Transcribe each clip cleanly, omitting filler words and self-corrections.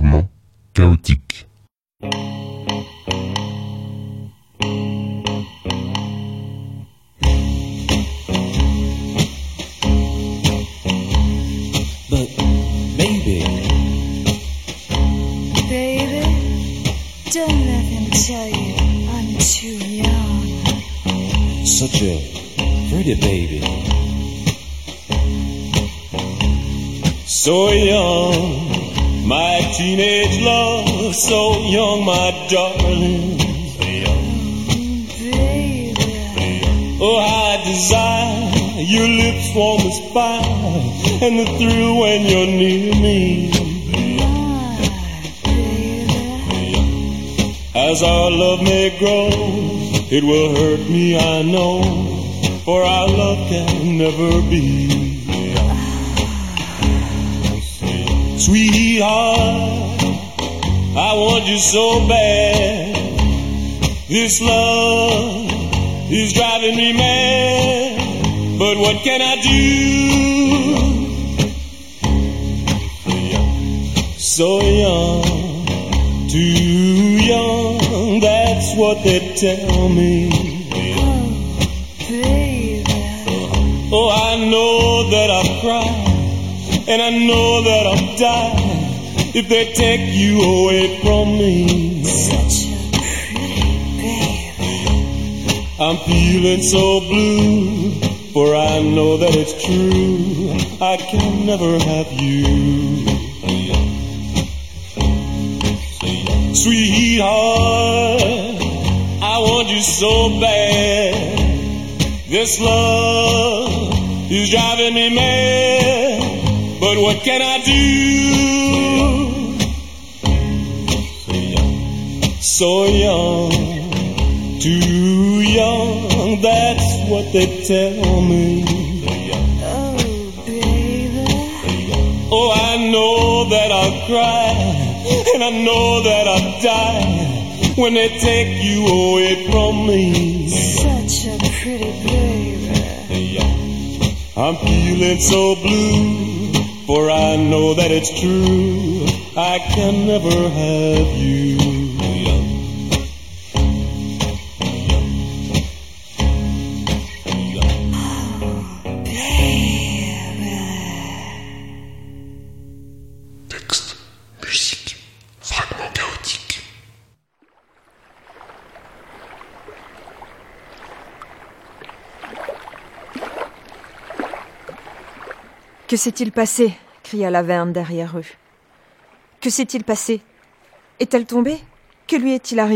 fragments chaotiques. But baby, don't let him tell you I'm too young. such a pretty baby. So young, my teenage love, so young, my darling. Baby, Oh, I desire your lips warm as fire, and the thrill when you're near me. my baby, As our love may grow, it will hurt me, I know, for our love can never be. Sweetheart, I want you so bad. This love is driving me mad, but what can I do? So young, too young, that's what they tell me. oh baby, Oh, I know that I've cried, and I know that I'll die if they take you away from me. such a pretty baby. I'm feeling so blue, for I know that it's true, I can never have you. Sweetheart, I want you so bad. This love is driving me mad, but what can I do? So young, too young, that's what they tell me. Oh baby, Oh, I know that I'll cry, and I know that I'll die when they take you away from me. such a pretty baby. I'm feeling so blue, for I know that it's true, I can never have you. Texte, musique, fragments chaotiques. Que s'est-il passé ? Cria Laverne derrière eux. Que s'est-il passé ? Est-elle tombée ? Que lui est-il arrivé ?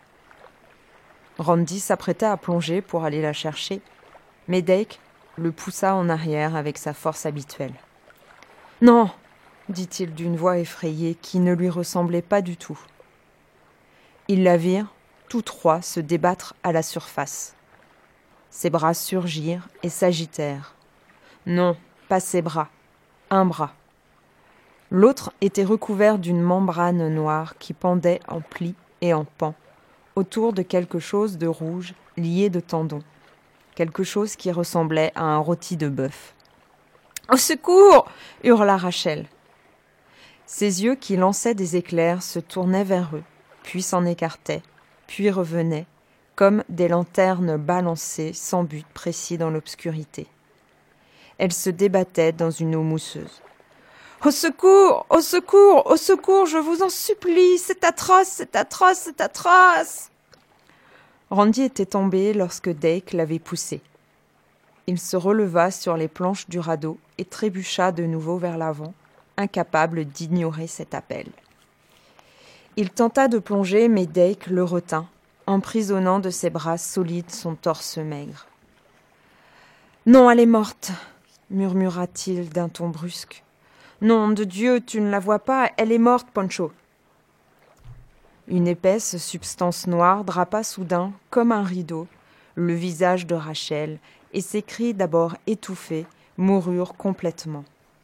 Randy s'apprêtait à plonger pour aller la chercher, mais Dake le poussa en arrière avec sa force habituelle. « Non !» dit-il d'une voix effrayée qui ne lui ressemblait pas du tout. Ils la virent, tous trois, se débattre à la surface. Ses bras surgirent et s'agitèrent. Non, pas ses bras, un bras. L'autre était recouvert d'une membrane noire qui pendait en plis et en pans, autour de quelque chose de rouge lié de tendons, quelque chose qui ressemblait à un rôti de bœuf. « Au secours !» hurla Rachel. Ses yeux qui lançaient des éclairs se tournaient vers eux, puis s'en écartaient, puis revenaient, comme des lanternes balancées sans but précis dans l'obscurité. Elle se débattait dans une eau mousseuse. « Au secours ! Au secours ! Au secours ! Je vous en supplie ! C'est atroce ! C'est atroce ! C'est atroce !» Randy était tombé lorsque Dake l'avait poussé. Il se releva sur les planches du radeau et trébucha de nouveau vers l'avant, incapable d'ignorer cet appel. Il tenta de plonger, mais Dake le retint, emprisonnant de ses bras solides son torse maigre. « Non, elle est morte !» murmura-t-il d'un ton brusque. « Nom de Dieu, tu ne la vois pas, elle est morte, Pancho !» Une épaisse substance noire drapa soudain, comme un rideau, le visage de Rachel, et ses cris d'abord étouffés moururent complètement.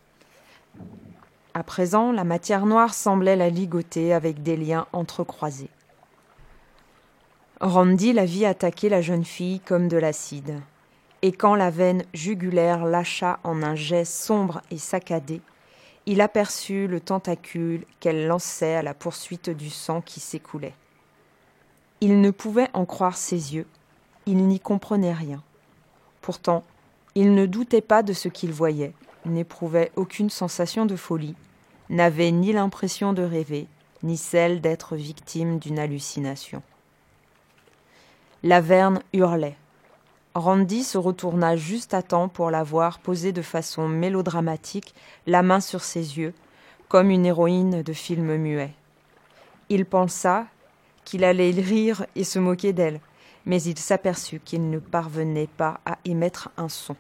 À présent, la matière noire semblait la ligoter avec des liens entrecroisés. Randy la vit attaquer la jeune fille comme de l'acide. Et quand la veine jugulaire lâcha en un jet sombre et saccadé, il aperçut le tentacule qu'elle lançait à la poursuite du sang qui s'écoulait. Il ne pouvait en croire ses yeux, il n'y comprenait rien. Pourtant, il ne doutait pas de ce qu'il voyait, n'éprouvait aucune sensation de folie, n'avait ni l'impression de rêver, ni celle d'être victime d'une hallucination. Laverne hurlait. Randy se retourna juste à temps pour la voir poser de façon mélodramatique la main sur ses yeux, comme une héroïne de film muet. Il pensa qu'il allait rire et se moquer d'elle, mais il s'aperçut qu'il ne parvenait pas à émettre un son.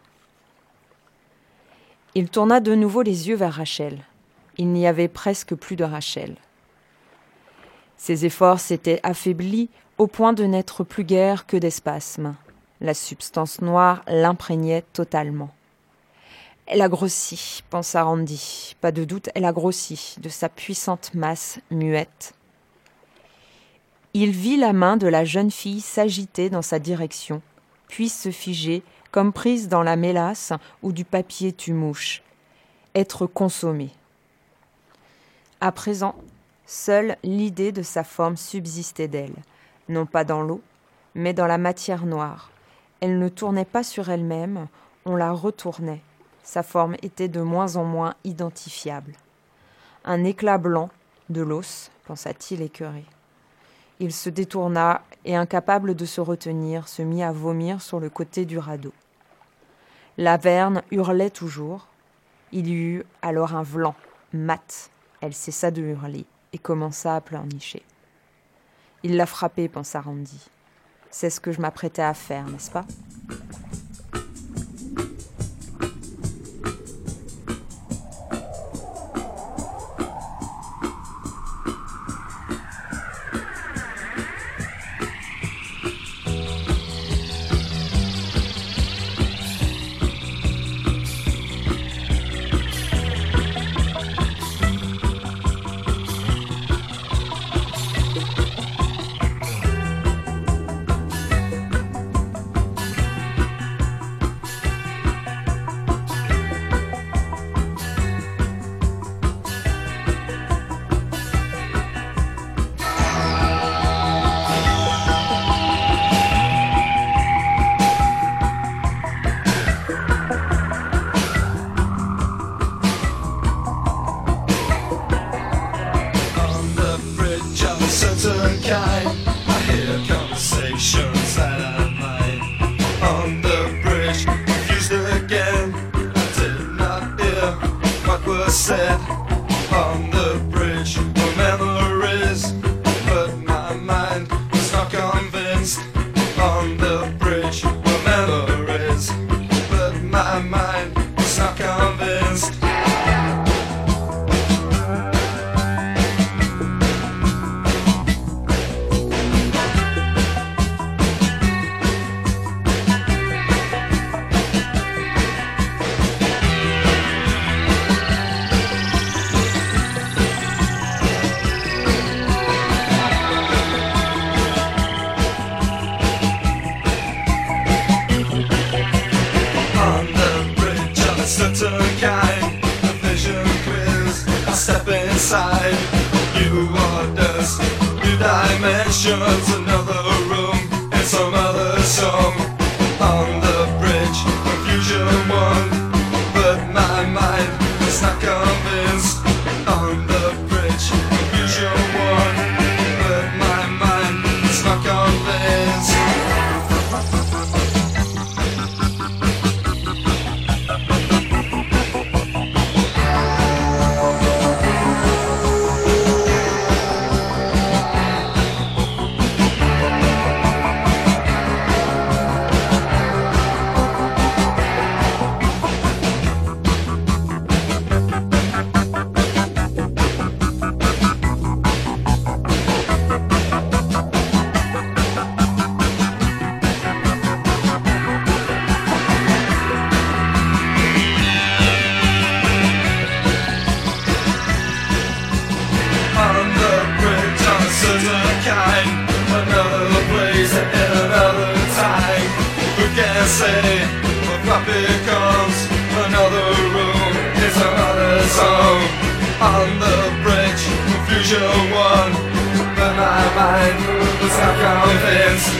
Il tourna de nouveau les yeux vers Rachel. Il n'y avait presque plus de Rachel. Ses efforts s'étaient affaiblis au point de n'être plus guère que des spasmes. La substance noire l'imprégnait totalement. « Elle a grossi », pensa Randy. Pas de doute, elle a grossi, de sa puissante masse muette. Il vit la main de la jeune fille s'agiter dans sa direction, puis se figer, comme prise dans la mélasse ou du papier tue-mouche. Être consommée. À présent, seule l'idée de sa forme subsistait d'elle, non pas dans l'eau, mais dans la matière noire. Elle ne tournait pas sur elle-même, on la retournait. Sa forme était de moins en moins identifiable. Un éclat blanc, de l'os, pensa-t-il écœuré. Il se détourna et, incapable de se retenir, se mit à vomir sur le côté du radeau. Laverne hurlait toujours. Il y eut alors un vlan, mat. Elle cessa de hurler et commença à pleurnicher. « Il l'a frappée, pensa Randy. C'est ce que je m'apprêtais à faire, n'est-ce pas ? » Said on the bridge, no memories, but my mind was not convinced. On the bridge, no memories, but my mind was not convinced. Kind of vision quiz. I step inside. New orders, new dimensions, another room and some other song. On the bridge, confusion won, but my mind is not convinced. On the bridge, confusion won, but my mind is not convinced. Another place in another time. Who can say what becomes? Another room is another song. unusual one, but my mind was not convinced.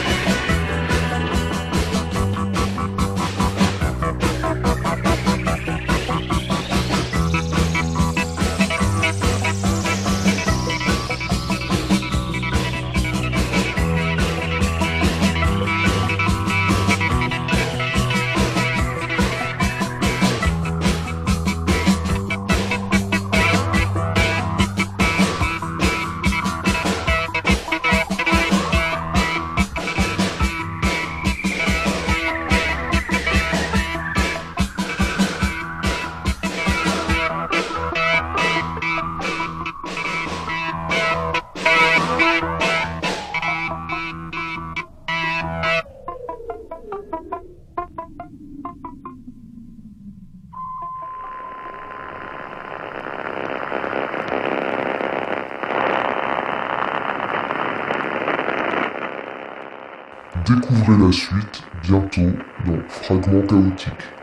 Découvrez la suite bientôt dans Fragments chaotiques.